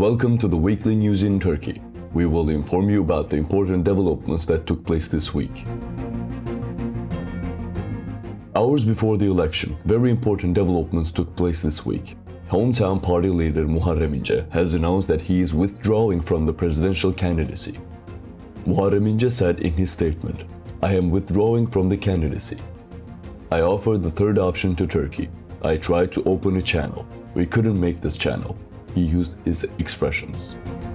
Welcome to the weekly news in Turkey. We will inform you about the important developments that took place this week. Hours before the election, very important developments took place this week. Hometown party leader Muharrem İnce has announced that he is withdrawing from the presidential candidacy. Muharrem İnce said in his statement, "I am withdrawing from the candidacy. I offered the third option to Turkey. I tried to open a channel. We couldn't make this channel." He used his expressions.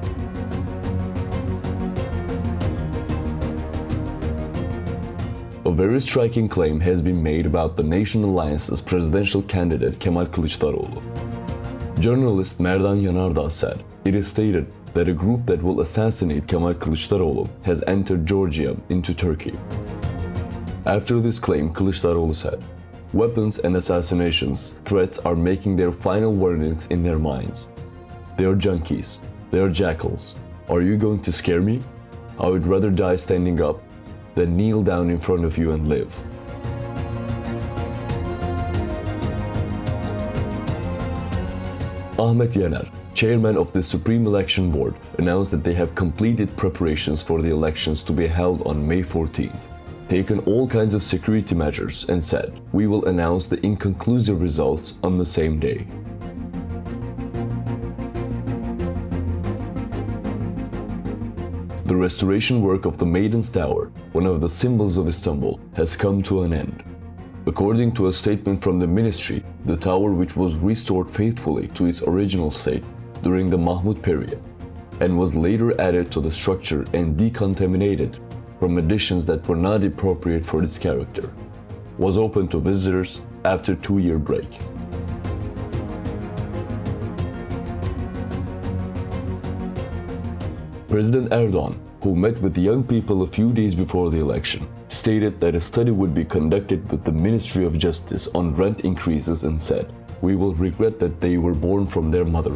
A very striking claim has been made about the Nation Alliance's presidential candidate Kemal Kılıçdaroğlu. Journalist Merdan Yanardağ said, "It is stated that a group that will assassinate Kemal Kılıçdaroğlu has entered Georgia into Turkey." After this claim, Kılıçdaroğlu said, "Weapons and assassinations threats are making their final verdicts in their minds. They are junkies. They are jackals. Are you going to scare me? I would rather die standing up than kneel down in front of you and live." Ahmet Yener, chairman of the Supreme Election Board, announced that they have completed preparations for the elections to be held on May 14th, taken all kinds of security measures, and said, "We will announce the inconclusive results on the same day." The restoration work of the Maiden's Tower, one of the symbols of Istanbul, has come to an end. According to a statement from the ministry, the tower, which was restored faithfully to its original state during the Mahmud period, and was later added to the structure and decontaminated from additions that were not appropriate for its character, was open to visitors after a 2-year break. President Erdogan, who met with young people a few days before the election, stated that a study would be conducted with the Ministry of Justice on rent increases and said, "We will regret that they were born from their mother."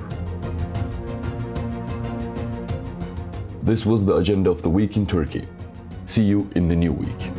This was the agenda of the week in Turkey. See you in the new week.